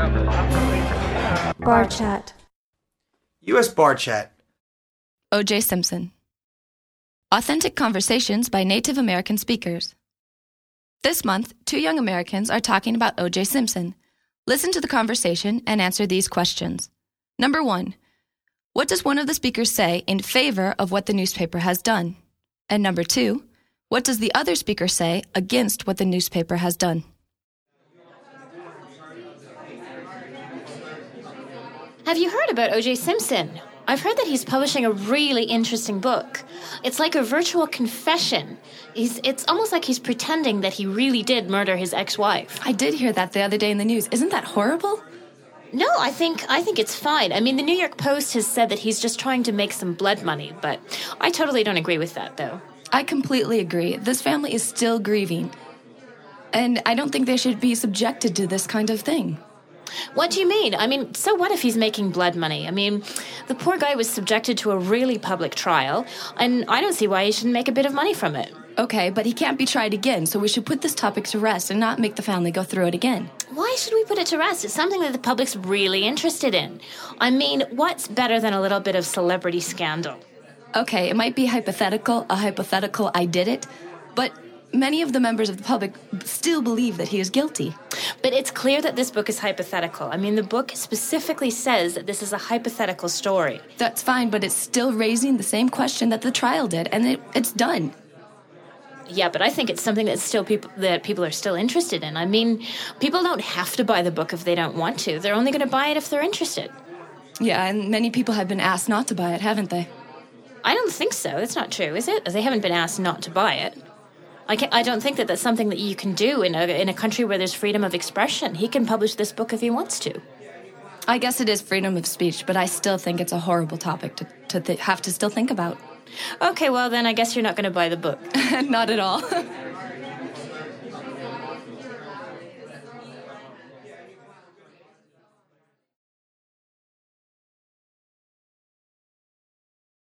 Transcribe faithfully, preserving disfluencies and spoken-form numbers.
Bar Chat. U S Bar Chat. O J. Simpson. Authentic conversations by Native American speakers. This month, two young Americans are talking about O J. Simpson. Listen to the conversation and answer these questions. Number one, what does one of the speakers say in favor of what the newspaper has done? And number two, what does the other speaker say against what the newspaper has done? Have you heard about O J. Simpson? I've heard that he's publishing a really interesting book. It's like a virtual confession. He's, it's almost like he's pretending that he really did murder his ex-wife. I did hear that the other day in the news. Isn't that horrible? No, I think I think it's fine. I mean, the New York Post has said that he's just trying to make some blood money, but I totally don't agree with that, though. I completely agree. This family is still grieving, and I don't think they should be subjected to this kind of thing. What do you mean? I mean, so what if he's making blood money? I mean, the poor guy was subjected to a really public trial, and I don't see why he shouldn't make a bit of money from it. Okay, but he can't be tried again, so we should put this topic to rest and not make the family go through it again. Why should we put it to rest? It's something that the public's really interested in. I mean, what's better than a little bit of celebrity scandal? Okay, it might be hypothetical, a hypothetical I did it, but many of the members of the public still believe that he is guilty. But it's clear that this book is hypothetical. I mean, the book specifically says that this is a hypothetical story. That's fine, but it's still raising the same question that the trial did, and it, it's done. Yeah, but I think it's something that's still people that people are still interested in. I mean, people don't have to buy the book if they don't want to. They're only going to buy it if they're interested. Yeah, and many people have been asked not to buy it, haven't they? I don't think so. That's not true, is it? They haven't been asked not to buy it. I, can't, I don't think that that's something that you can do in a, in a country where there's freedom of expression. He can publish this book if he wants to. I guess it is freedom of speech, but I still think it's a horrible topic to, to th- have to still think about. Okay, well then I guess you're not going to buy the book. Not at all.